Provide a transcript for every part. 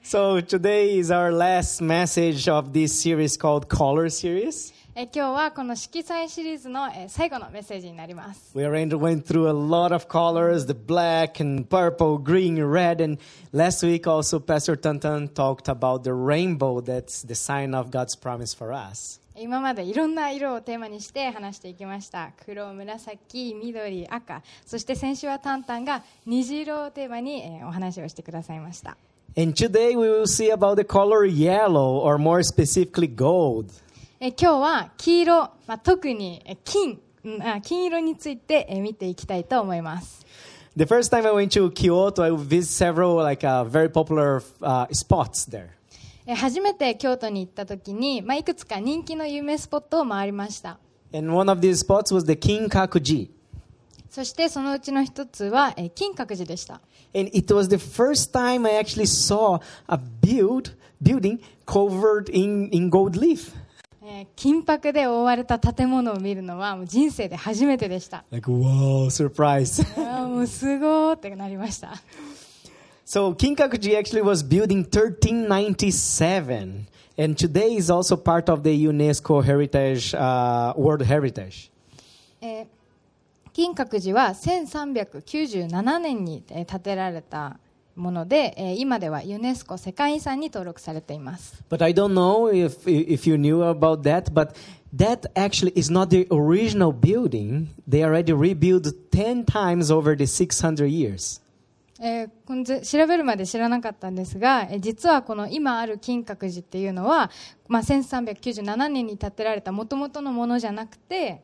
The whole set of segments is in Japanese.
So today is our last message of this series called Color Series. 今日はこの色彩シリーズの最後のメッセージになります。 We already went through a lot of colors, the black and purple, green, red, and last week also Pastor Tantan talked about the rainbow. That's the sign of God's promise for us. 今までいろんな色をテーマにして話していきました。黒、紫、緑、赤、そして先週はタンタンが虹色をテーマにお話をしてくださいました。 And today we will see about the color yellow, or more specifically gold. 今日は黄色、特に金色について見ていきたいと思います。 The first time I went to Kyoto, I visited several very popular spots there. 初めて京都に行った時に、いくつか人気の有名スポットを回りました。 And one of these spots was the Kinkakuji. そしてそのうちの一つは金閣寺でした。 And it was the first time I actually saw a building covered in gold leaf. 金箔で覆われた建物を見るのはもう人生で初めてでした。 Like, wow, surprise. もうすごーってなりました。 So Kinkakuji actually was built in 1397. And today is also part of the UNESCO Heritage, World Heritage. 金閣寺は1397年に建てられたもので、今ではユネスコ世界遺産に登録されています。 But I don't know if you knew about that, but that actually is not the original building. They already rebuilt 10 times over the 600 years. 調べるまで知らなかったんですが、実はこの今ある金閣寺っていうのは、1397年に建てられた元々のものじゃなくて、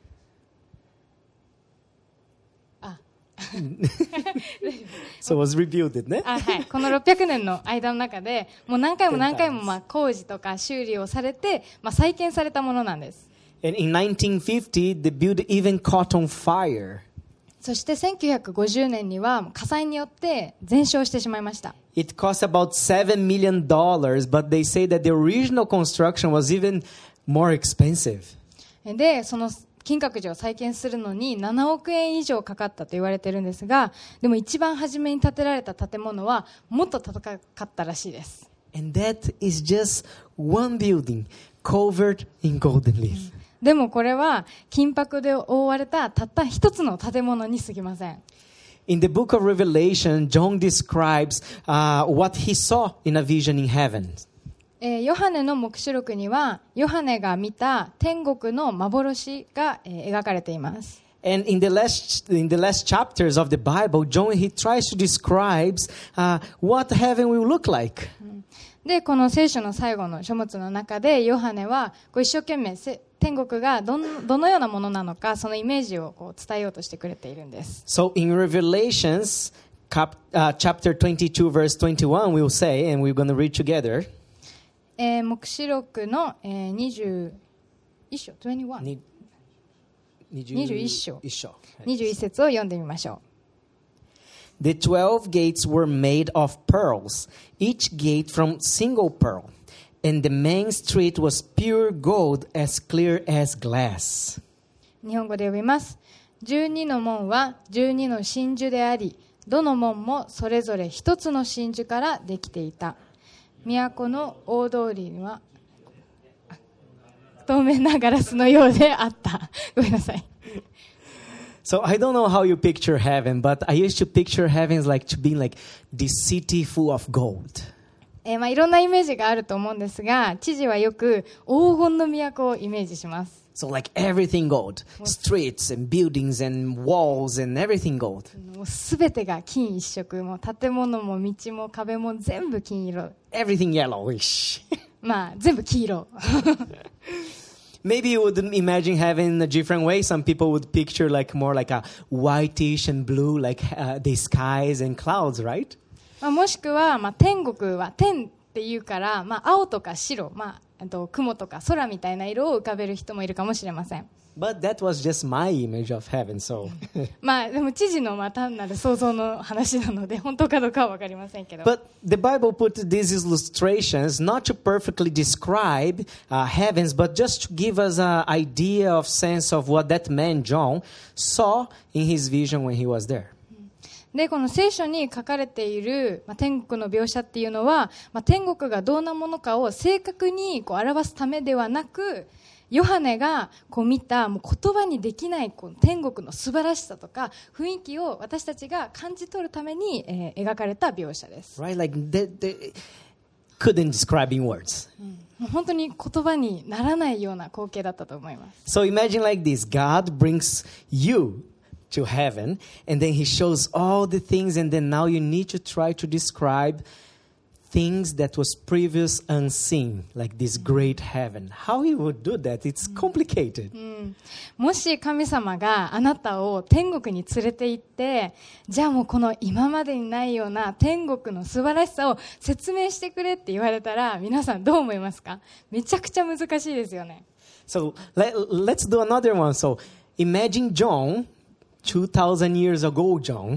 So it was rebuilt, ね。 はい、この600年の間の中でもう何回も工事とか修理をされて、再建されたものなんです。 And in 1950, the building even caught on fire. そして1950年には火災によって全焼してしまいました。 It cost about $7 million, but they say that the original construction was even more expensive. で、その金閣寺を再建するのに7億円以上かかったと言われているんですが、でも一番初めに建てられた建物はもっと高かったらしいです。 And that is just one building covered in golden leaf. でもこれは金箔で覆われたたった一つの建物に過ぎません。 In the book of Revelation, John describes what he saw in a vision in heaven. ヨハネの黙示録にはヨハネが見た天国の幻が描かれています。 And in the last chapters of the Bible, John he tries to describe what heaven will look like. で、この聖書の最後の書物の中でヨハネは一生懸命天国がどのようなものなのか、そのイメージを伝えようとしてくれているんです。 So in Revelations chapter 22 verse 21 we'll say, and we're going to read together. 黙示録の21章21 21章21節を読んでみましょう。 The 12 gates were made of pearls, each gate from single pearl, and the main street was pure gold as clear as glass. 日本語で読みます。12の門は12の真珠であり、どの門もそれぞれ一つの真珠からできていた。都の大通りには透明なガラスのようであった。ごめんなさい。 So I don't know how you picture heaven, but I used to picture heaven as like to be like this city full of gold. いろんなイメージがあると思うんですが、知事はよく黄金の都をイメージします。 So like everything gold, streets and buildings and walls and everything gold. もうすべてが金一色、もう建物も道も壁も全部金色。 Everything yellowish. 全部黄色。 Maybe you would imagine heaven in a different way. Some people would picture like more like a whitish and blue, like the skies and clouds, right? もしくは、天国は天っていうから、青とか白、雲とか空みたいな色を浮かべる人もいるかもしれません。 But that was just my image of heaven, so. でも知事の単なる想像の話なので本当かどうかは分かりませんけど。 But the Bible put these illustrations not to perfectly describe heavens, but just to give us an idea of sense of what that man John saw in his vision when he was there. で、この聖書に書かれている、天国の描写っていうのは、天国がどんなものかを正確に表すためではなく、ヨハネが見たもう言葉にできない天国の素晴らしさとか雰囲気を私たちが感じ取るために、描かれた描写です。 Right? Like they couldn't describe in words. もう本当に言葉にならないような光景だったと思います。 So imagine like this. God brings you to heaven, and then he shows all the things, and then now you need to try to describe things that was previous unseen, like this great heaven. How he would do that? It's complicated. もし神様があなたを天国に連れて行って、じゃあもうこの今までにないような天国の素晴らしさを説明してくれって言われたら、皆さんどう思いますか？めちゃくちゃ難しいですよね。 So let's do another one. So imagine John, 2,000 years ago, John,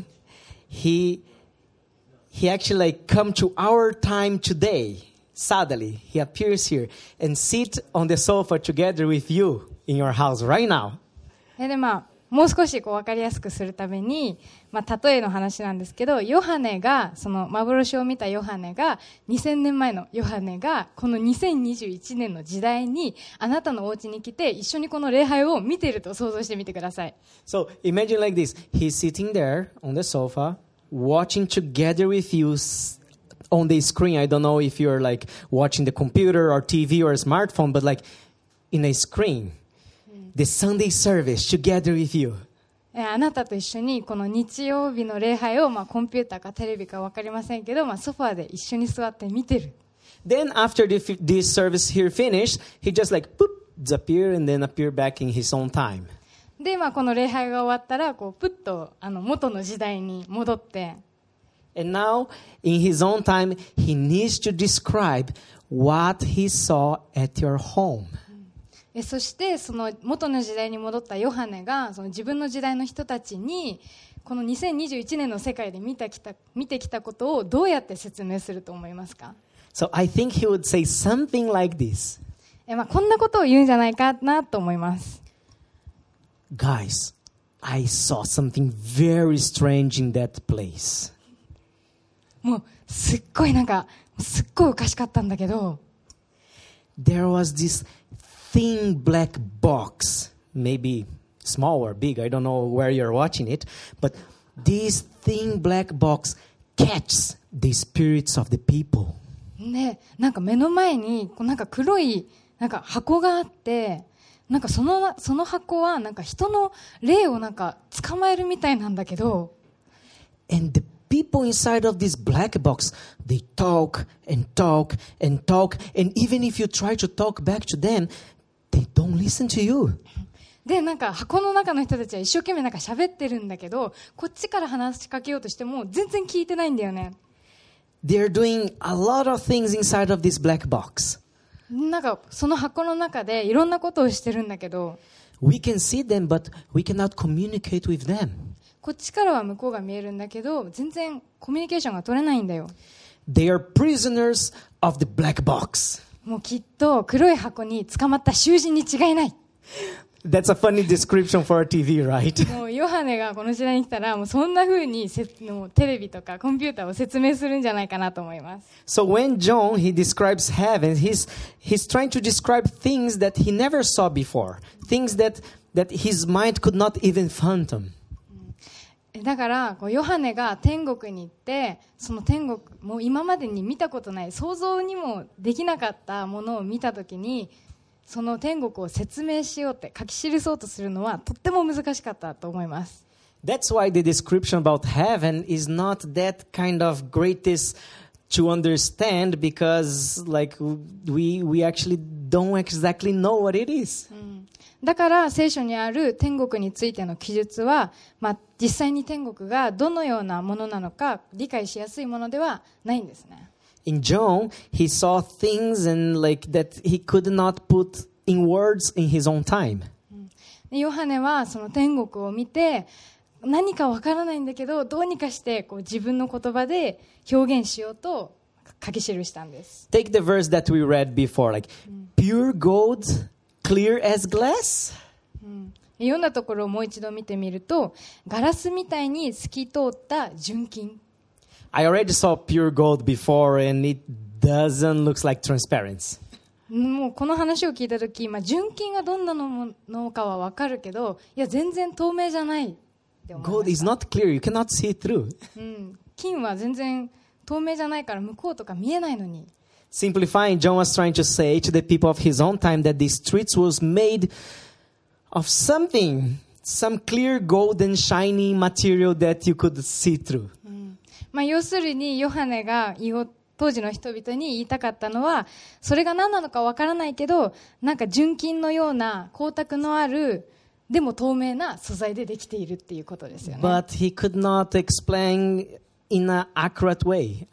he actually like come to our time today. Suddenly, he appears here and sit on the sofa together with you in your house right now. で、もう少し分かりやすくするために、例えの話なんですけど、ヨハネが、その幻を見たヨハネが、2000年前のヨハネが、この2021年の時代に、あなたのお家に来て、一緒にこの礼拝を見ていると想像してみてください。 So imagine like this. He's sitting there on the sofa, watching together with you on the screen. I don't know if you're like watching the computer or TV or a smartphone, but like in a screen. The Sunday service together with you. あなたと一緒にこの日曜日の礼拝を、コンピューターかテレビか分かりませんけど、ソファーで一緒に座って見てる。 Then after this service here finished, he just like poop, disappear and then appear back in his own time. で、この礼拝が終わったら、プッと元の時代に戻って。 And now, in his own time, he needs to describe what he saw at your home. そしてその元の時代に戻ったヨハネがその自分の時代の人たちにこの2021年の世界で見てきたことをどうやって説明すると思いますか？ So I think he would say something like this. こんなことを言うんじゃないかなと思います。 Guys, I saw something very strange in that place. もうすっごいおかしかったんだけど。 There was this thin black box, maybe small or big, I don't know where you're watching it, but this thin black box catches the spirits of the people. ね、目の前に黒い箱があって、その箱は人の霊を捕まえるみたいなんだけど。 And the people inside of this black box, they talk and talk and talk, and even if you try to talk back to them, they don't listen to you. で、箱の中の人たちは一生懸命喋ってるんだけど、こっちから話しかけようとしても全然聞いてないんだよね。 They're doing a lot of things inside of this black box. その箱の中でいろんなことをしてるんだけど、 We can see them, but we cannot communicate with them. こっちからは向こうが見えるんだけど、全然コミュニケーションが取れないんだよ。 They are prisoners of the black box. もうきっと黒い箱に捕まった囚人に違いない。 That's a funny description for a TV, right? もうヨハネがこの時代に来たら、もうそんな風にもうテレビとかコンピューターを説明するんじゃないかなと思います。 So when John, he describes heaven, he's trying to describe things that he never saw before. Things that his mind could not even fathom. だからヨハネが天国に行って、その天国もう今までに見たことない、想像にもできなかったものを見たときに、その天国を説明しようって書き記そうとするのはとっても難しかったと思います。 That's why the description about heaven is not that kind of greatest to understand, because like we actually don't exactly know what it is. だから聖書にある天国についての記述は、実際に天国がどのようなものなのか理解しやすいものではないんですね。 In John, he saw things and like that he could not put in words in his own time. ヨハネはその天国を見て、何かわからないんだけど、どうにかして自分の言葉で表現しようと書き記したんです。 Take the verse that we read before, like pure gold, clear as glass. 読んだところをもう一度見てみると、ガラスみたいに透き通った純金。 I already saw pure gold before and it doesn't look like transparent. もうこの話を聞いたとき、純金がどんなものかはわかるけど、いや全然透明じゃないって思いま Gold し is た。 not clear. You cannot see it through. 金は全然透明じゃないから向こうとか見えないのに。 Simplifying, John was trying to say to the people of his own time that the streets was made of something, some clear golden shining material that you could see through. 要するにヨハネが当時の人々に言いたかったのは、それが何なのかわからないけど、なんか純金のような光沢のある、でも透明な素材でできているっていうことですよね。 But he could not explain in an accurate way,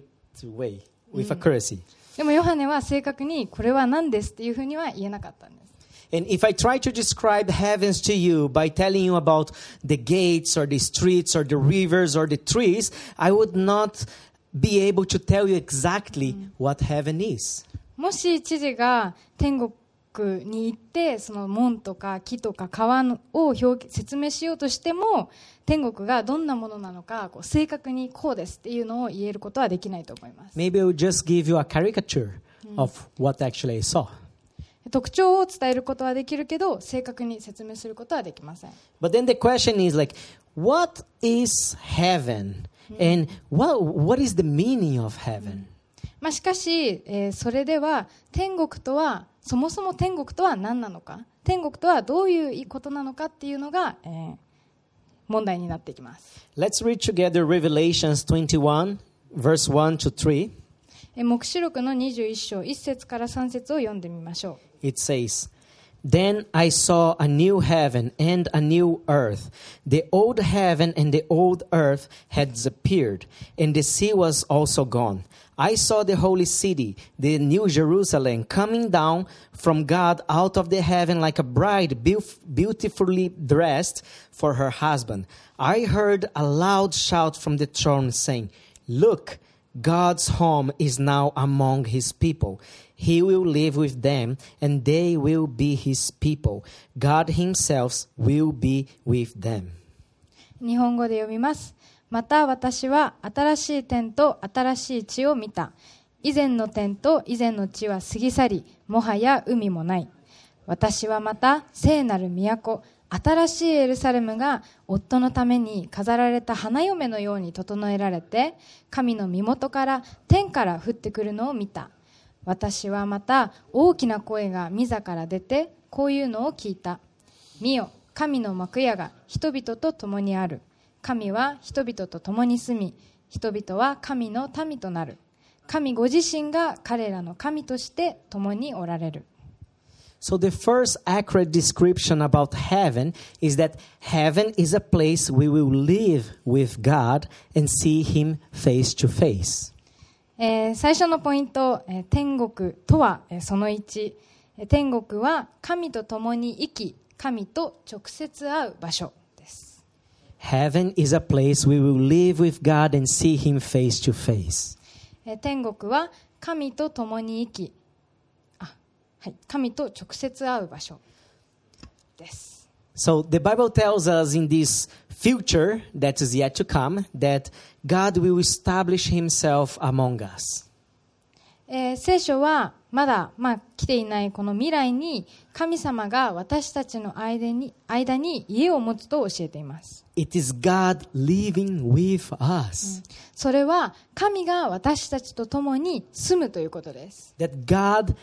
with accuracy. でもヨハネは正確にこれは何ですっていうふうには言えなかったんです。 And if I try to describe heavens to you by telling you about the gates or the streets or the rivers or the trees, I would not be able to tell you exactly what heaven is. もし知事が天国に行ってその門とか木とか川を説明しようとしても、天国がどんなものなのか正確にこうですっていうのを言えることはできないと思います。 Maybe I will just give you a caricature of what actually I saw. 特徴を伝えることはできるけど、正確に説明することはできません。 But then the question is like, what is heaven? And what is the meaning of heaven? しかし、それでは天国とは、そもそも天国とは何なのか、天国とはどういうことなのかっていうのが、問題になっていきます。 Let's read together Revelations 21, verse 1 to 3. 黙示録の21章1節から3節を読んでみましょう。 It says, Then I saw a new heaven and a new earth. The old heaven and the old earth had disappeared, and the sea was also gone. I saw the holy city, the new Jerusalem, coming down from God out of the heaven like a bride beautifully dressed for her husband. I heard a loud shout from the throne saying, Look, God's home is now among his people. He will live with them, and they will be his people. God himself will be with them. 日本語で読みます。また私は新しい天と新しい地を見た。以前の天と以前の地は過ぎ去り、もはや海もない。私はまた聖なる都、新しいエルサレムが夫のために飾られた花嫁のように整えられて、神の身元から天から降ってくるのを見た。私はまた大きな声が御座から出て、こういうのを聞いた。見よ、神の幕屋が人々と共にある。神は人々と共に住み、人々は神の民となる。神ご自身が彼らの神として共におられる。 So the first accurate description about heaven is that heaven is a place we will live with God and see him face to face. 最初のポイント、天国とは、その1、天国は神と共に生き、神と直接会う場所です。 Heaven is a place we will live with God and see him face to face. 天国は神と共に生き、神と直接会う場所です。 So the Bible tells us in this future that is yet to come that God will establish himself among us. 聖書はまだ、来ていないこの未来に神様が私たちの間に家を持つと教えています。 It is God living with us. それは神が私たちと共に住むということです。 That God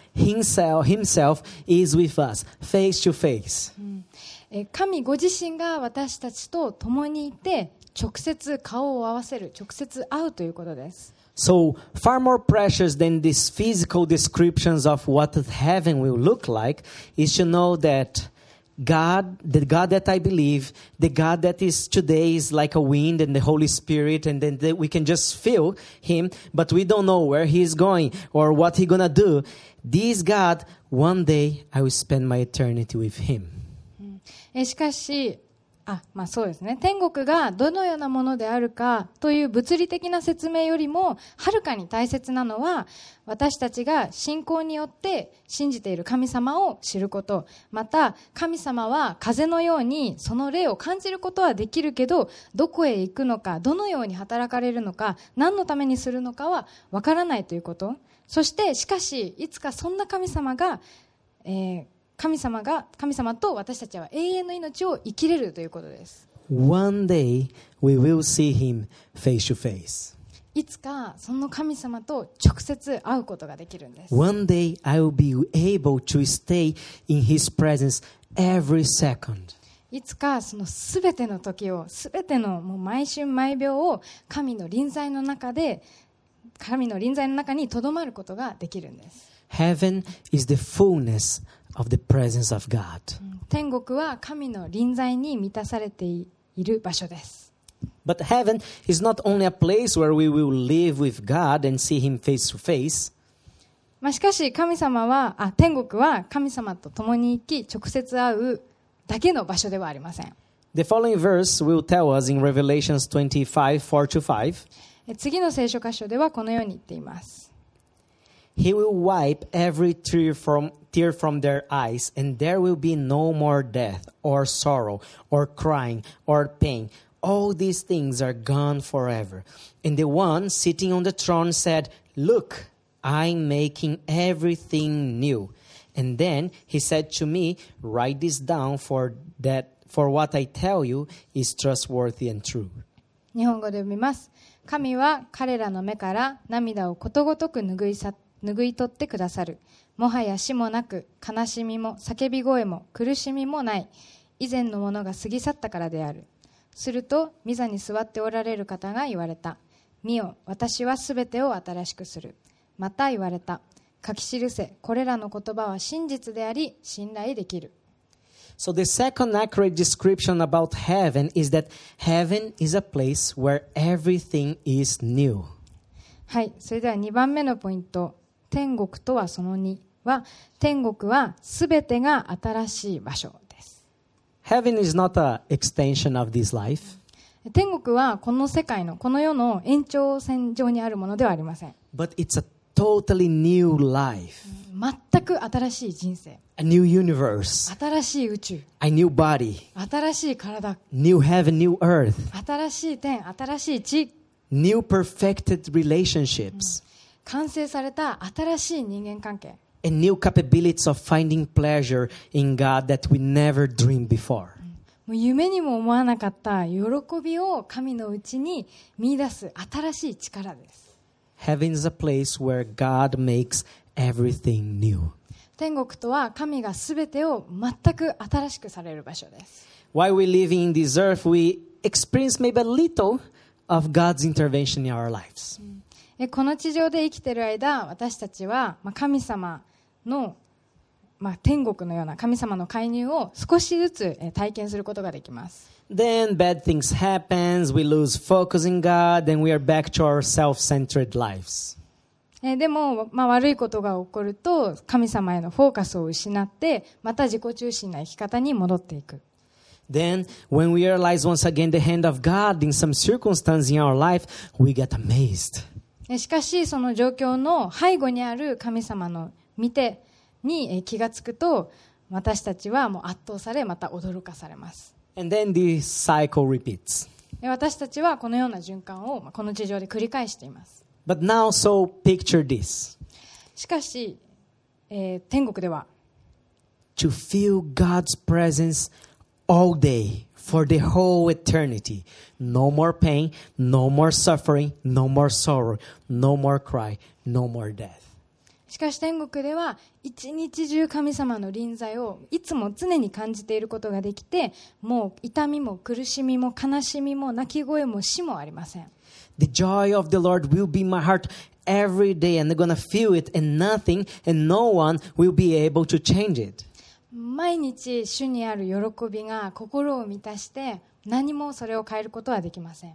himself is with us, face to face. 神ご自身が私たちと共にいて直接顔を合わせる、直接会うということです。 So far more precious than these physical descriptions of what heaven will look like is to know that the God that I believe, the God that is today is like a wind and the Holy Spirit, and then we can just feel him, but we don't know where he is going or what he's gonna do. This God, one day I will spend my eternity with him. しかしそうですね。天国がどのようなものであるかという物理的な説明よりもはるかに大切なのは、私たちが信仰によって信じている神様を知ること、また神様は風のようにその霊を感じることはできるけど、どこへ行くのか、どのように働かれるのか、何のためにするのかはわからないということ。そしてしかしいつかそんな神様が、神様と私たちは永遠の命を生きれるということです。 One day we will see him face to face. いつかその神様と直接会うことができるんです。 One day I will be able to stay in his presence every second. いつかそのすべての時を、すべてのもう毎春毎秒を神の臨在の中にとどまることができるんです。 Heaven is the fullness of the presence of God. 天国は神の臨在に満たされている場所です。 But heaven is not only a place where we will live with God and see him face to face. しかし天国は神様と共に生き直接会うだけの場所ではありません。 The following verse will tell us in Revelations 25:4-5. 次の聖書箇所ではこのように言っています。 He will wipe every tear from their eyes, and there will be no more death, or sorrow, or crying, or pain. All these things are gone forever. And the one sitting on the throne said, Look, I'm making everything new. And then he said to me, Write this down, for what I tell you is trustworthy and true. 日本語で読みます。神は彼らの目から涙をことごとく拭い取ってくださる。もはや死もなく、悲しみも叫び声も苦しみもない。以前のものが過ぎ去ったからである。すると御座に座っておられる方が言われた。見よ、私はすべてを新しくする。また言われた。書き記せ、これらの言葉は真実であり信頼できる。 So the second accurate description about heaven is that heaven is a place where everything is new. はい、それでは2番目のポイント。天国とはその2は、天国はすべてが新しい場所です。 Heaven is not an extension of this life. 天国はこの世界の、この世の延長線上にあるものではありません。 But it's a totally new life. 全く新しい人生。 A new universe. 新しい宇宙。 A new body. 新しい体。 New heaven, new earth. 新しい天、新しい地。 New perfected relationships. 完成された新しい人間関係。 And new capabilities of finding pleasure in God that we never dreamed before. もう夢にも思わなかった喜びを神のうちに見出す新しい力です。 Heaven is a place where God makes everything new. 天国とは神がすべてを全く新しくされる場所です。 While we live in this earth, we experience maybe a little of God's intervention in our lives. この地上で生きている間、私たちは神様の、天国のような神様の介入を少しずつ体験することができます。 Then bad things happen, we lose focus in God, and we are back to our self-centered lives. でも、悪いことが起こると神様へのフォーカスを失ってまた自己中心な生き方に戻っていく。 Then, when we realize once again the hand of God in some circumstance in our life, we get amazed. しかしその状況の背後にある神様の見てに気がつくと、私たちはもう圧倒されまた驚かされます。 And then the cycle repeats. 私たちはこのような循環をこの地上で繰り返しています。 But now, so picture this. しかし、天国では To feel God's presence all day for the whole eternity. No more pain, no more suffering, no more sorrow, no more cry, no more death. しかし天国では一日中神様の臨在をいつも常に感じていることができて、もう痛みも苦しみも悲しみも泣き声も死もありません。 The joy of the Lord will be in my heart every day, and I'm going to feel it, and nothing and no one will be able to change it. 毎日主にある喜びが心を満たして何もそれを変えることはできません。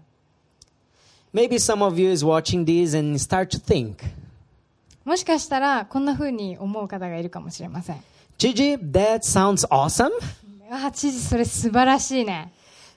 Maybe some of you is watching this and start to think, もしかしたらこんな風に思う方がいるかもしれません。 Gigi, that sounds awesome. 知事それ素晴らしいね。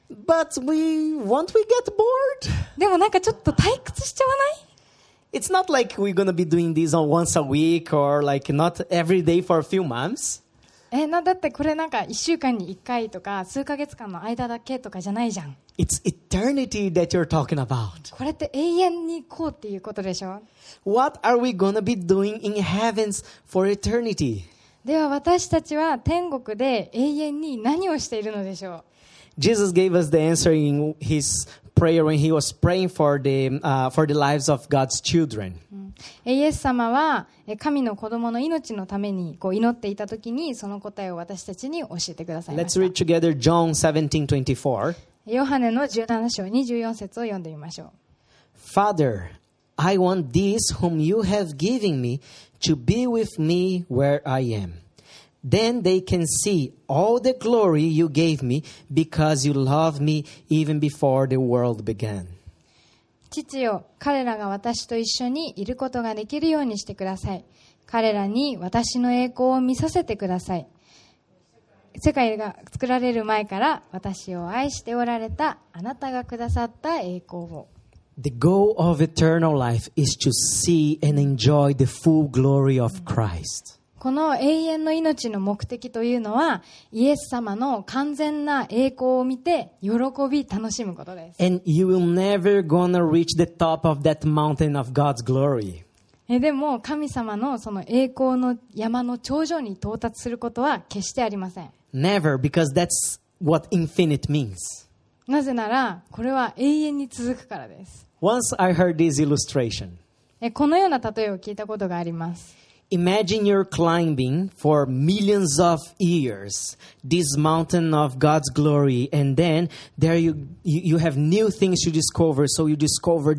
But won't we get bored? でもなんかちょっと退屈しちゃわない？ It's not like we're going to be doing this once a week or like not every day for a few months. だってこれなんか1週間に1回とか数ヶ月間の間だけとかじゃないじゃん。 It's eternity that you're talking about. これって永遠にこうっていうことでしょ。 What are we going to be doing in heavens for eternity? では私たちは天国で永遠に何をしているのでしょう。 Jesus gave us the answer in his prayer when he was praying for the lives of God's children. イエス様は神の子供の命のために祈っていたときにその答えを私たちに教えてくださいま Let's した。 read together John 17:24. ヨハネの17章24節を読んでみましょう。 Father, I want these whom you have given me to be with me where I am. Then they can see all the glory you gave me because you loved me even before the world began. 父よ、彼らが私と一緒にいることができるようにしてください。彼らに私の栄光を見させてください。世界が作られる前から私を愛しておられたあなたがくださった栄光を。 The goal of eternal life is to see and enjoy the full glory of Christ. この永遠の命の目的というのは、イエス様の完全な栄光を見て、喜び、楽しむことです。 And you will never gonna reach the top of that mountain of God's glory. でも、神様のその栄光の山の頂上に到達することは決してありません。 Never, because that's what infinite means. なぜなら、これは永遠に続くからです。 Once I heard this illustration. このような例えを聞いたことがあります。 Imagine you're climbing for millions of years this mountain of God's glory, and then there you have new things to discover. So you discover.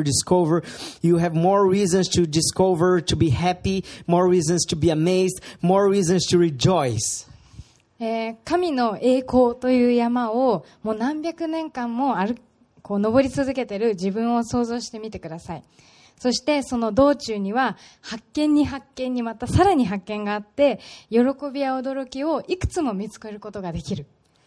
You have more reasons to discover, to be happy, more reasons to be amazed, more reasons to rejoice. 神の栄光という山をもう何百年間も登り続けている自分を想像してみてください。そしてその道中には発見にまたさらに発見があって、喜びや驚きをいくつも見つけることができる。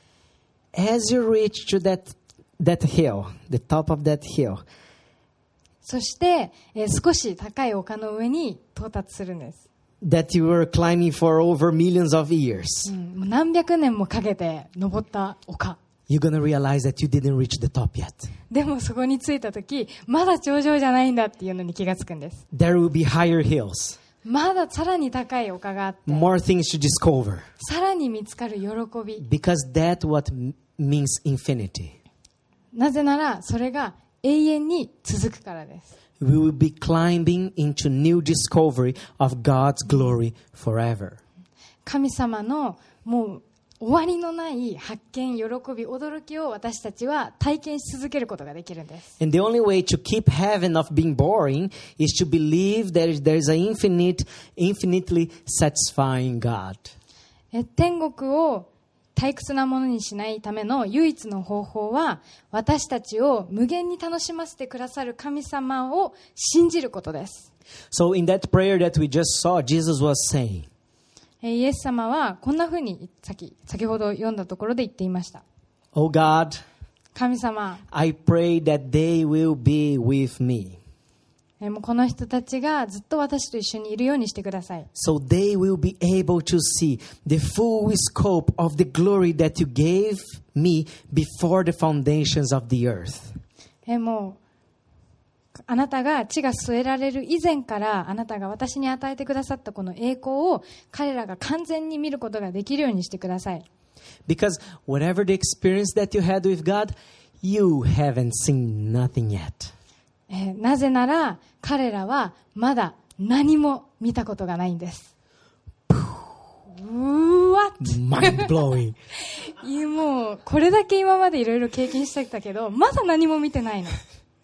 As you reach to that hill, the top of that hill, そして、少し高い丘の上に到達するんです。 that you were climbing for over millions of years, もう何百年もかけて登った丘。 you're going to realize that you didn't reach the top yet. でもそこに着いたとき、まだ頂上じゃないんだっていうのに気がつくんです。 There will be higher hills, まださらに高い丘があって、 more things to discover, さらに見つかる喜び。 because that's what means infinity. なぜならそれが永遠に続くからです。 We will be climbing into new discovery of God's glory forever. 神様のもう終わりのない発見、喜び、驚きを私たちは体験し続けることができるんです。 And the only way to keep heaven of being boring is to believe that there is an infinitely satisfying God. 天国を退屈なものにしないための唯一の方法は、私たちを無限に楽しませてくださる神様を信じることです。 So in that prayer that we just saw, Jesus was saying, イエス様はこんなふうに先ほど読んだところで言っていました。 Oh God, 神様、 I pray that they will be with me. もうこの人たちがずっと私と一緒にいるようにしてください。 So they will be able to see the full scope of the glory that you gave me before the foundations of the earth. もうあなたが地が据えられる以前からあなたが私に与えてくださったこの栄光を彼らが完全に見ることができるようにしてください。 Because whatever the experience that you had with God, you haven't seen nothing yet. なぜなら彼らはまだ何も見たことがないんです。 Mind blowing. もうこれだけ今までいろいろ経験してきたけど、まだ何も見てないの。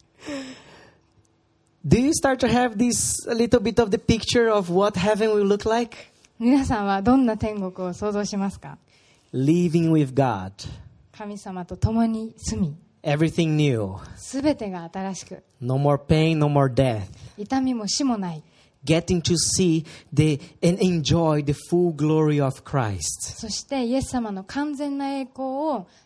Do you start to have this a little bit of the picture of what heaven will look like? 皆さんはどんな天国を想像しますか？ Living with God. 神様と共に住み、 Everything new. すべてが新しく、 No more pain, no more death. 痛みも死もない。 Getting to see and enjoy the full glory of Christ. そしてイエス様の完全な栄光を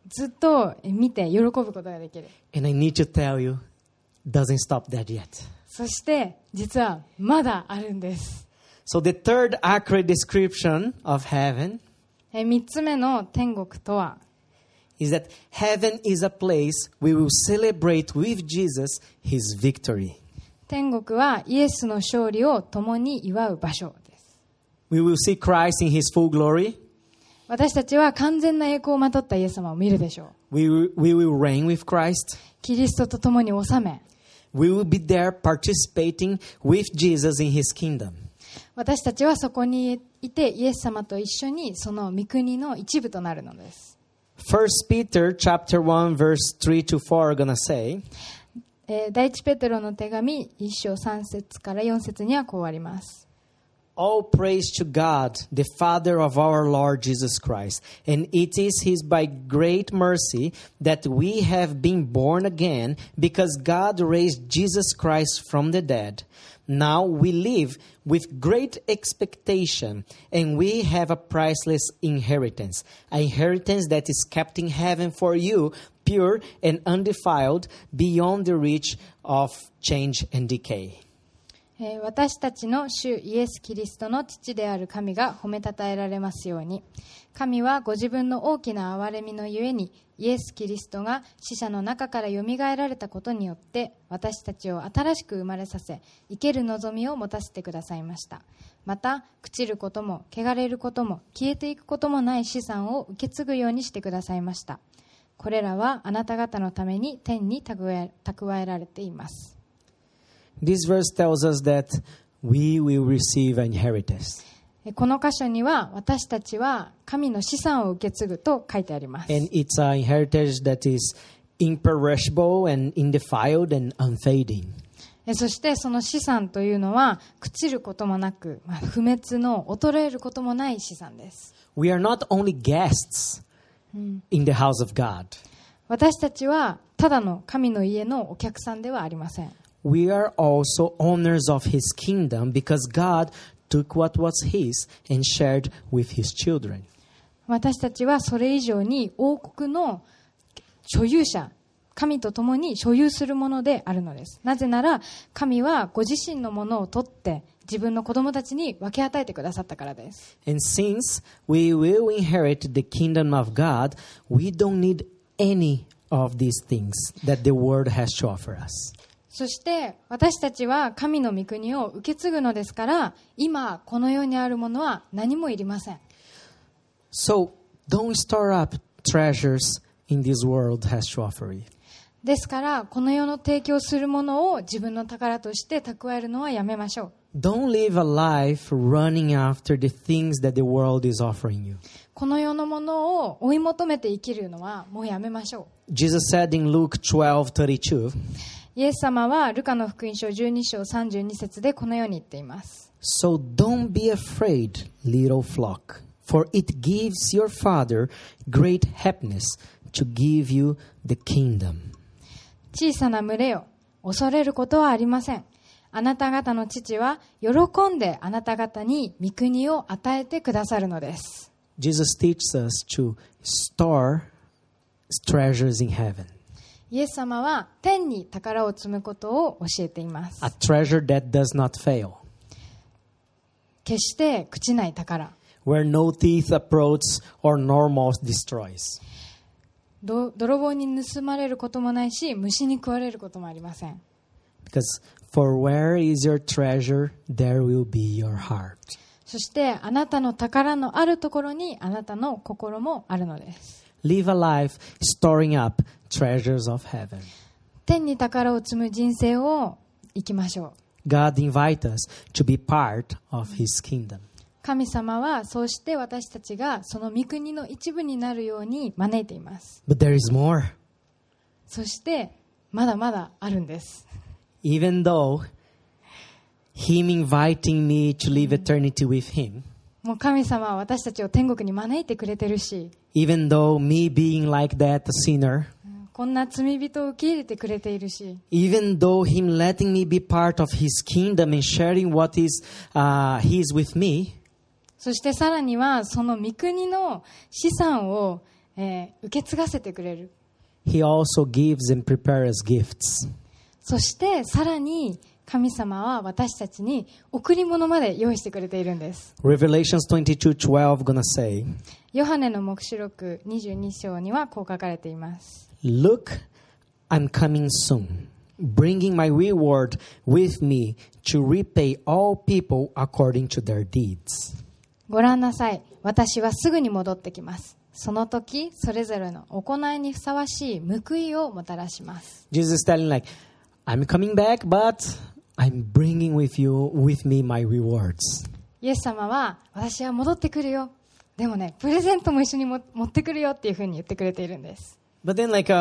ずっと見て喜ぶことができる。 And I need to tell you, doesn't stop that yet. そして実はまだあるんです。 So the third accurate description of heaven 3つ目の天国とは、 is that heaven is a place we will celebrate with Jesus his victory. 天国はイエスの勝利を共に祝う場所です。 We will see Christ in his full glory. 私たちは完全な栄光をまとったイエス様を見るでしょう。 We will reign with Christ. キリストと共に治め、 We will be there participating with Jesus in his kingdom. 私たちはそこにいてイエス様と一緒にその御国の一部となるのです。 1 Peter chapter 1 verse 3 to 4 are going to say, 第一ペテロの手紙1章3節から4節にはこうあります。 All praise to God, the Father of our Lord Jesus Christ. And it is his by great mercy that we have been born again, because God raised Jesus Christ from the dead. Now we live with great expectation, and we have a priceless inheritance, an inheritance that is kept in heaven for you, pure and undefiled, beyond the reach of change and decay. 私たちの主イエス・キリストの父である神が褒めたたえられますように。神はご自分の大きな憐れみのゆえに、イエス・キリストが死者の中からよみがえられたことによって、私たちを新しく生まれさせ、生ける望みを持たせてくださいました。また、朽ちることも、汚れることも、消えていくこともない資産を受け継ぐようにしてくださいました。これらはあなた方のために天に蓄えられています。 This verse tells us that we will receive an inheritance. この箇所には私たちは神の資産を受け継ぐと書いてあります。 And it's an inheritance that is imperishable and undefiled and unfading. そしてその資産というのは朽ちることもなく、不滅の衰えることもない資産です。 We are not only guests in the house of God. 私たちはただの神の家のお客さんではありません。 We are also owners of his kingdom because God took what was his and shared with his children. 私たちはそれ以上に王国の所有者、神と共に所有するものであるのです。なぜなら神はご自身のものを取って自分の子供たちに分け与えてくださったからです。 And since we will inherit the kingdom of God, we don't need any of these things that the world has to offer us. そして私たちは神の御国を受け継ぐのですから、今この世にあるものは何もいりません。 So don't store up treasures in this world has to offer you. ですからこの世の提供するものを自分の宝として蓄えるのはやめましょう。 Don't live a life running after the things that the world is offering you. この世のものを追い求めて生きるのはもうやめましょう。 Jesus said in Luke 12:32, イエス様はルカの福音書12章32節でこのように言っています。 So don't be afraid, little flock, for it gives your Father great happiness to give you the kingdom. 小さな群れよ、恐れることはありません。あなた方の父は喜んであなた方に御国を与えてくださるのです。 Jesus teaches us to store treasures in heaven. イエス様は天に宝を積むことを教えています。 A treasure that does not fail, 決して朽ちない宝。 where no thief approach or nor moth destroys. 泥棒に盗まれることもないし、虫に食われることもありません。 Because for where is your treasure, there will be your heart. そしてあなたの宝のあるところにあなたの心もあるのです。 Live a life storing up treasures of heaven. 天に宝を積む人生を生きましょう。 God invites us to be part of his kingdom. 神様はそうして私たちがその御国の一部になるように招いています。 But there is more. そしてまだまだあるんです。 Even though him inviting me to live eternity with him, もう神様は私たちを天国に招いてくれてるし、 even though me being like that, a sinner, こんな罪人を受け入れてくれているし、 even though him letting me be part of his kingdom and sharing what is his with me, そしてさらにはその御国の資産を受け継がせてくれる。 He also gives and prepares gifts. そしてさらに神様は私たちに贈り物まで用意してくれているんです。 Revelations 22:12 gonna say, ヨハネの黙示録22章にはこう書かれています。 Look, I'm coming soon, bringing my reward with me to repay all people according to their deeds. ご覧なさい。私はすぐに戻ってきます。その時、それぞれの行いにふさわしい報いをもたらします。 Jesus is telling like, I'm coming back, but I'm bringing with me my rewards. イエス様は、私は戻ってくるよ。でもね、プレゼントも一緒に持ってくるよっていうふうに言ってくれているんです。 But then like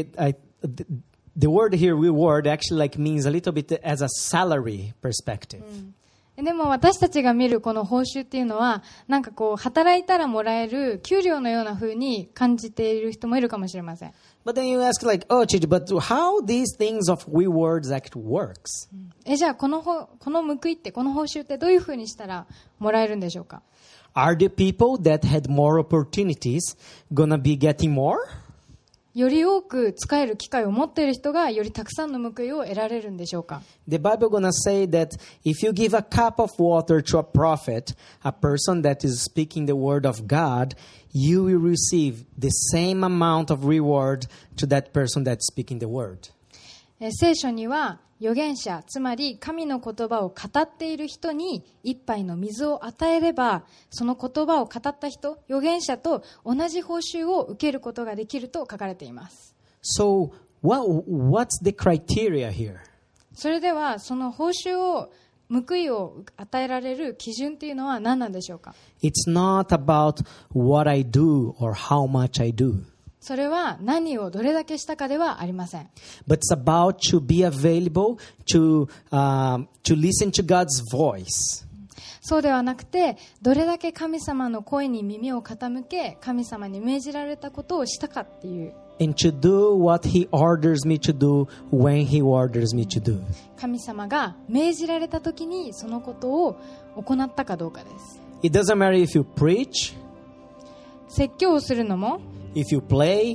the word here, reward, actually like means a little bit as a salary perspective. でも私たちが見るこの報酬っていうのは、なんかこう、働いたらもらえる給料のような風に感じている人もいるかもしれません。 But then you ask like, oh, Chichi, but how these things of rewards actually works? じゃあこの報いって、この報酬ってどういう風にしたらもらえるんでしょうか？ Are the people that had more opportunities gonna be getting more? より多く使える機会を持っている人がよりたくさんの報いを得られるんでしょうか？ The Bible gonna say that if you give a cup of water to a prophet, a person that is speaking the word of God, you will receive the same amount of reward to that person that's speaking the word. 聖書には預言者、つまり神の言葉を語っている人に一杯の水を与えれば、その言葉を語った人、預言者と同じ報酬を受けることができると書かれています。 So what's the criteria here? それではその報酬を報いを与えられる基準っていうのは何なんでしょうか？ It's not about what I do or how much I do. それは何をどれだけしたかではありません。 But it's about to be available to listen to God's voice. そうではなくて、どれだけ神様の声に耳を傾け、神様に命じられたことをしたかっていう。 And to do what He orders me to do when He orders me to do. 神様が命じられた時にそのことを行ったかどうかです。 It doesn't matter if you preach, 説教をするのも、 if you play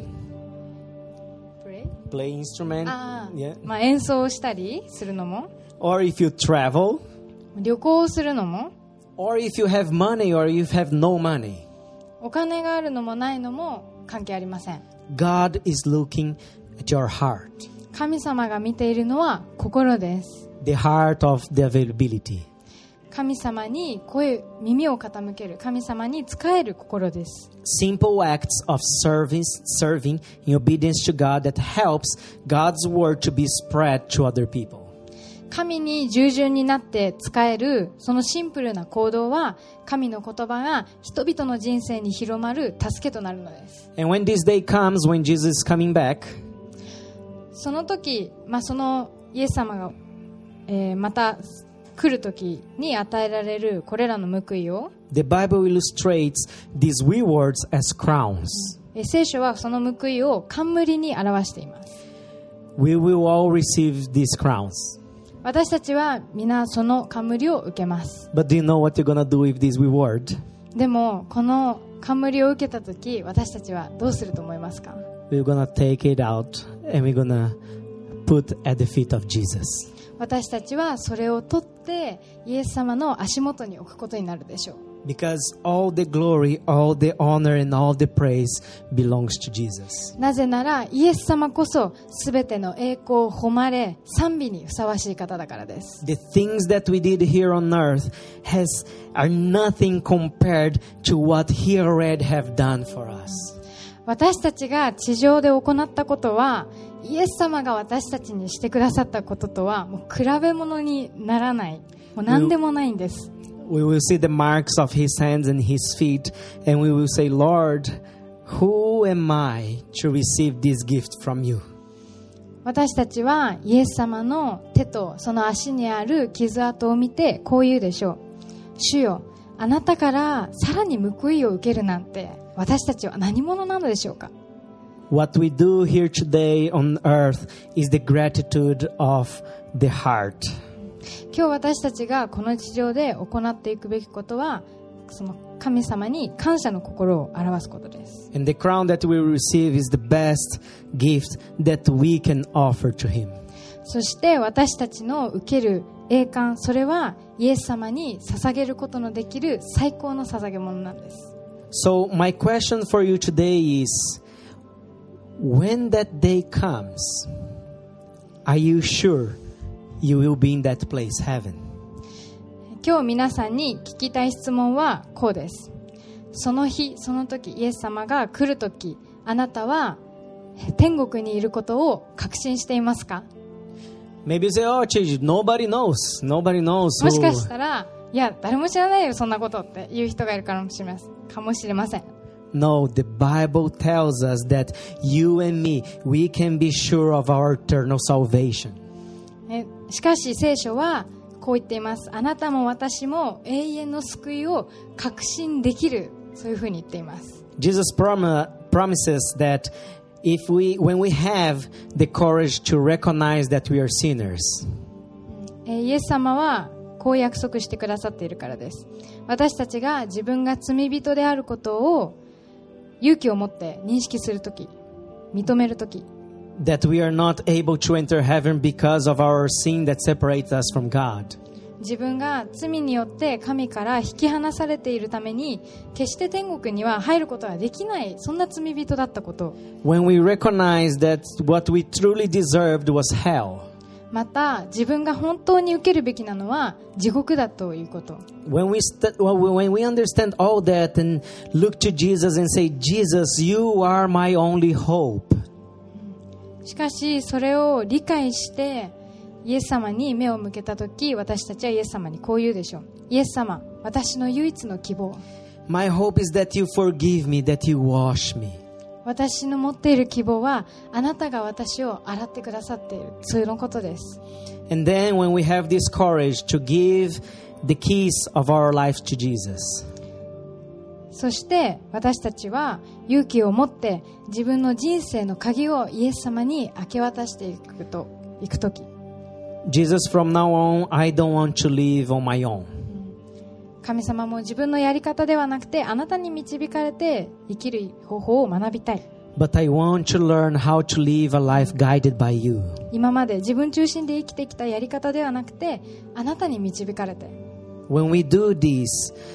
instrument, まあ、演奏をしたりするのも、 or if you travel, 旅行をするのも、 or if you have money or you have no money. お金があるのもないのも関係ありません。 God is looking at your heart. 神様が見ているのは心です。 The heart of the availability. 神様に耳を傾ける、神様に仕える心です。 Simple acts of serving in obedience to God that helps God's word to be spread to other people. 神に従順になって仕えるそのシンプルな行動は、神の言葉が人々の人生に広まる助けとなるのです。 And when this day comes, when Jesus is coming back, その時、そのイエス様が、また来る時に与えられるこれらの報いを、 the Bible illustrates these rewards as crowns. 聖書はその報いを冠に表しています。 We will all receive these crowns. 私たちは皆その冠を受けます。 But do you know what you're gonna do with this reward? でもこの冠を受けた時、私たちはどうすると思いますか？ We're gonna take it out and we're gonna put at the feet of Jesus. 私たちはそれを取ってイエス様の足元に置くことになるでしょう。 Because all the glory, all the honor, and all the praise belongs to Jesus. なぜならイエス様こそすべての栄光、誉れ、賛美にふさわしい方だからです。 The things that we did here on earth are nothing compared to what He already have done for us. 私たちが地上で行ったことは、イエス様が私たちにしてくださったこととはもう比べ物にならない、もう何でもないんです。 We will see the marks of His hands and His feet, and we will say, Lord, who am I to receive this gift from you? 私たちはイエス様の手とその足にある傷跡を見てこう言うでしょう。主よ、あなたからさらに報いを受けるなんて私たちは何者なのでしょうか。 What we do here today on earth is the gratitude of the heart. 今日私たちがこの地上で行っていくべきことはその神様に感謝の心を表すことです。 And the crown that we receive is the best gift that we can offer to Him. そして私たちの受ける栄冠、それはイエス様に捧げることのできる最高の捧げ物なんです。 So my question for you today is, when that day comes, are you sure you will be in that place, heaven? 今日皆さんに聞きたい質問はこうです。その日その時、イエス様が来る時、あなたは天国にいることを確信していますか？ Maybe you say, oh, Chiji, nobody knows. Nobody knows. もしかしたら、いや誰も知らないよそんなことっていう人がいるかもしれません。 No, the Bible tells us that you and me, we can be sure of our eternal salvation. しかし聖書はこう言っています。あなたも私も永遠の救いを確信できる、そういうふうに言っています。 Jesus promises that when we have the courage to recognize that we are sinners, イエス様はこう約束してくださっているからです。私たちが自分が罪人であることを勇気を持って認識するとき、認めるとき、 that we are not able to enter heaven because of our sin that separates us from God. 自分が罪によって神から引き離されているために決して天国には入ることができない、そんな罪人だったこと。 When we recognize that what we truly deserved was hell. また自分が本当に受けるべきなのは地獄だということ。 When we understand all that and look to Jesus and say, Jesus, you are my only hope. しかしそれを理解してイエス様に目を向けたとき、私たちはイエス様にこう言うでしょう。イエス様、私の唯一の希望。 My hope is that you forgive me, that you wash me. 私の持っている希望はあなたが私を洗ってくださっている、そういうことです。 And then when we have this courage to give the keys of our life to Jesus, そして私たちは勇気を持って自分の人生の鍵をイエス様に明け渡していくとき、 Jesus, from now on, I don't want to live on my own. 神様も自分のやり方ではなくてあなたに導かれて生きる方法を学びたい。 But I want to learn how to live a life guided by you. 今まで自分中心で生きてきたやり方ではなくてあなたに導かれて。 When we do this,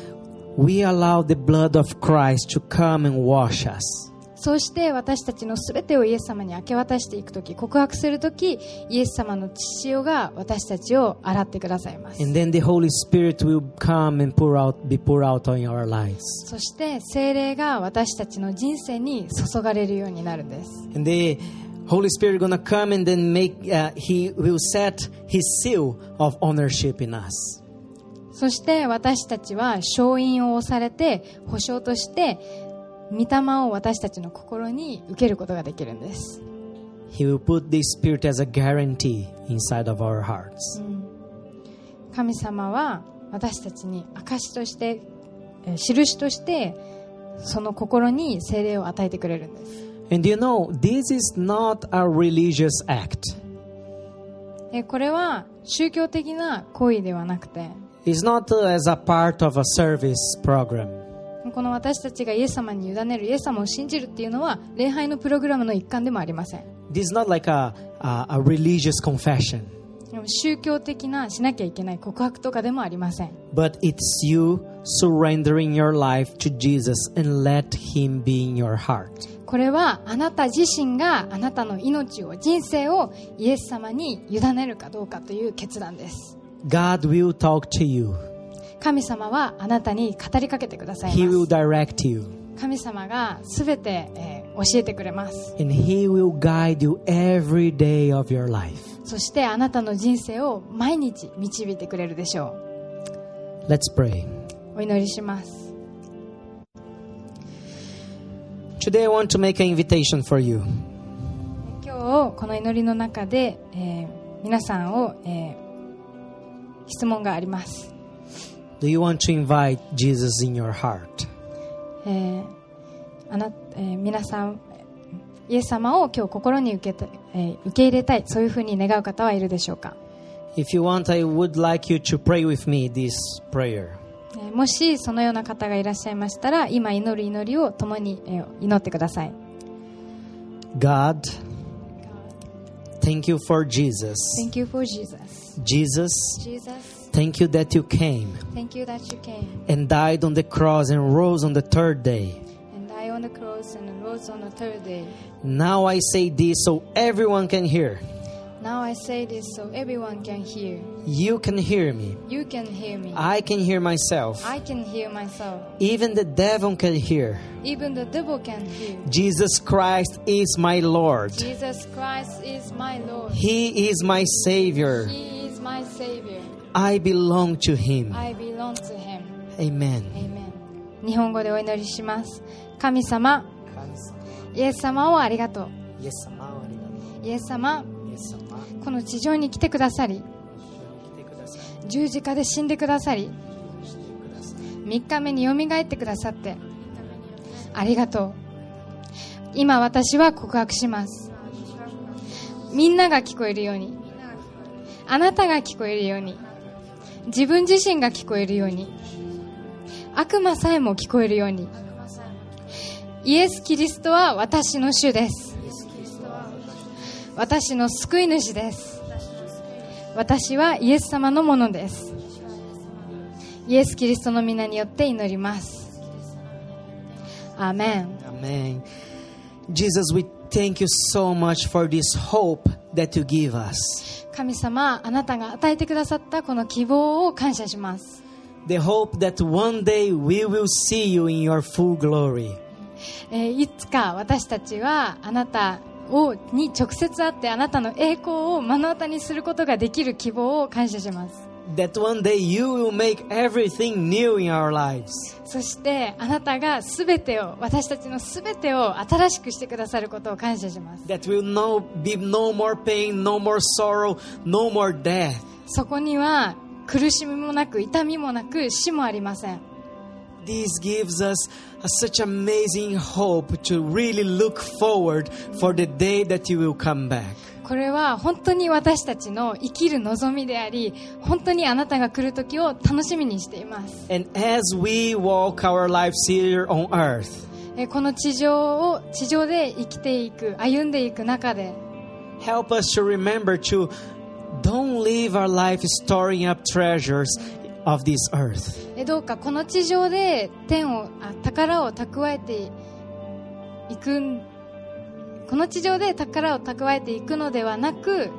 we allow the blood of Christ to come and wash us. そうして私たちのすべてをイエス様に明け渡していくとき、告白するとき、イエス様の血潮が私たちを洗ってくださいます。 And then the Holy Spirit will come and be poured out on our lives. そして聖霊が私たちの人生に注がれるようになるんです。 And the Holy Spirit is going to come and then He will set His seal of ownership in us. そして私たちは証印を押されて保証として御霊を私たちの心に受けることができるんです。 He will put the Spirit as a guarantee inside of our hearts. 神様は私たちに証として印としてその心に聖霊を与えてくれるんです。 And you know, this is not a religious act. これは宗教的な行為ではなくて、 It's not as a part of a service program. この私たちがイエス様に委ねる、イエス様を信じるっていうのは礼拝のプログラムの一環でもありません。 This is not like a religious confession. 宗教的なしなきゃいけない告白とかでもありません。 But it's you surrendering your life to Jesus and let Him be in your heart. これはあなた自身があなたの命を、人生をイエス様に委ねるかどうかという決断です。 God will talk to you. 神様はあなたに語りかけてください He ま will す。 direct you. 神様がすべて、教えてくれます。 And He will guide you every day of your life. そしてあなたの人生を毎日導いてくれるでしょう。 Let's pray. お祈りします。 Today I want to make an invitation for you. 今日この祈りの中で、皆さんを、質問があります。 Do you want to invite Jesus in your heart? 皆さんイエス様を今日心に受け入れたい、そういうふうに願う方はいるでしょうか。 If you want, I would like you to pray with me this prayer. もしそのような方がいらっしゃいましたら、今祈る祈りを共に祈ってください。 God, thank you for Jesus. Thank you for Jesus. Jesus, Jesus, thank you that you came thank you that you came and died on the cross and rose on the third day. and died on the cross and rose on the third day. Now I say this so everyone can hear. Now I say this so everyone can hear. You can hear me. You can hear me. I can hear myself. I can hear myself. Even the devil can hear. Even the devil can hear. Jesus Christ is my Lord. Jesus Christ is my Lord. He is my Savior. He is my Savior. I belong to Him. I belong to Him. Amen. Amen. 日本語でお祈りします。神様、イエス様をありがとう。イエス様、この地上に来てくださり、十字架で死んでくださり、3日目によみがえってくださってありがとう。今私は告白します。みんなが聞こえるように、あなたが聞こえるように、自分自身が聞こえるように、悪魔さえも聞こえるように、イエス・キリストは私の主です。私の救い主です。私はイエス様のものです。イエス・キリストの皆によって祈ります。アーメン。 Amen. Jesus, we thank you so much for this hope that you give us. 神様、あなたが与えてくださったこの希望を感謝します。 The hope that one day we will see you in your full glory. いつか私たちはあなたに直接会ってあなたの栄光を目の当たりにすることができる希望を感謝します。 That one day you will make everything new in our lives. そしてあなたが全てを、私たちの全てを新しくしてくださることを感謝します。 That will be no more pain, no more sorrow, no more death. そこには苦しみもなく痛みもなく死もありません。 This gives us such amazing hope to really look forward for the day that you will come back. これは本当に私たちの生きる望みであり、本当にあなたが来る時を楽しみにしています。 And as we walk our lives here on earth, この地上で生きていく、歩んでいく中で、 help us to remember to don't live our life storing up treasures of this earth. どうかこの地上で宝を蓄えていく、この地上で宝を蓄えていくのではなく、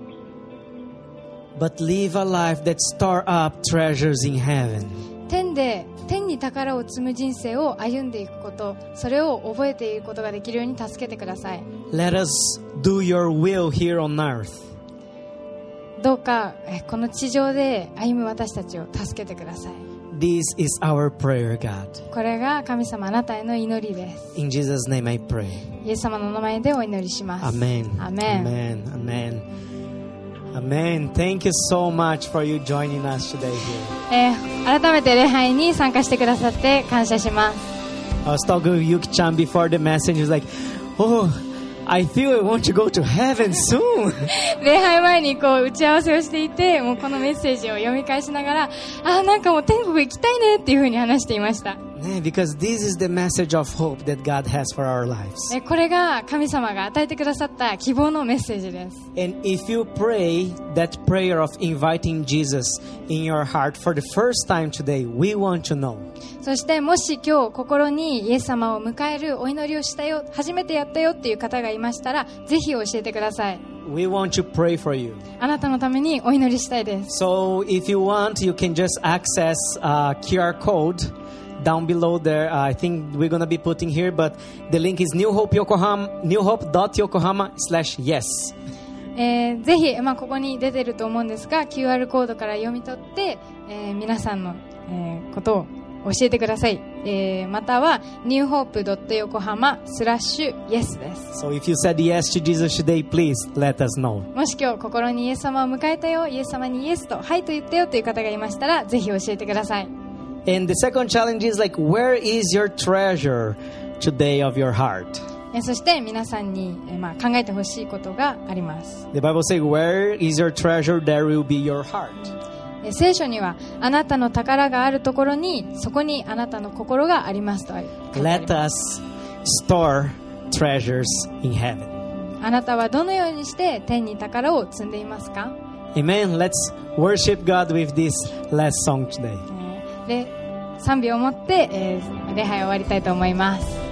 But live a life that store up treasures in heaven. 天に宝を積む人生を歩んでいくこと、それを覚えていくことができるように助けてください。 Let us do your will here on earth. どうかこの地上で歩む私たちを助けてください。 This is our prayer, God. これが神様あなたへの祈りです。 In Jesus' name I pray. イエス様の名前でお祈りします。 Amen. アメン。 Amen. Amen. Amen. Thank you so much for you joining us today here. 改めて礼拝に参加してくださって感謝します。 I was talking with Yuki-chan before the message. He was like, oh, I feel I want to go to heaven soon. 礼拝前に打ち合わせをしていて、もうこのメッセージを読み返しながら、なんかもう天国行きたいねっていうふうに話していました。 Because this is the message of hope that God has for our lives. これが神様が与えてくださった希望のメッセージです。 And if you pray that prayer of inviting Jesus in your heart for the first time today, we want to know. そしてもし今日心にイエス様を迎えるお祈りをしたよ、初めてやったよっていう方がいましたら、ぜひ教えてください。 We want to pray for you. あなたのためにお祈りしたいです。 So if you want, you can just access QR code down below there. I think we're going to be putting here, but the link is newhope.yokohama/yes. ぜひ、ここに出てると思うんですが QR コードから読み取って、皆さんの、ことを教えてください。または newhope.yokohama/yes です。 So if you said yes to Jesus today, please let us know. もし今日心にイエス様を迎えたよ、イエス様にイエスとはいと言ったよという方がいましたら、ぜひ教えてください。 And the second challenge is like, where is your treasure today of your heart? そして皆さんに、考えてほしいことがあります。 The Bible says, where is your treasure, there will be your heart. 聖書にはあなたの宝があるところにそこにあなたの心がありますと書いてあり Let ます。 us store treasures in heaven. あなたはどのようにして天に宝を積んでいますか？ Amen. Let's worship God with this last song today. で賛美をもって、礼拝を終わりたいと思います。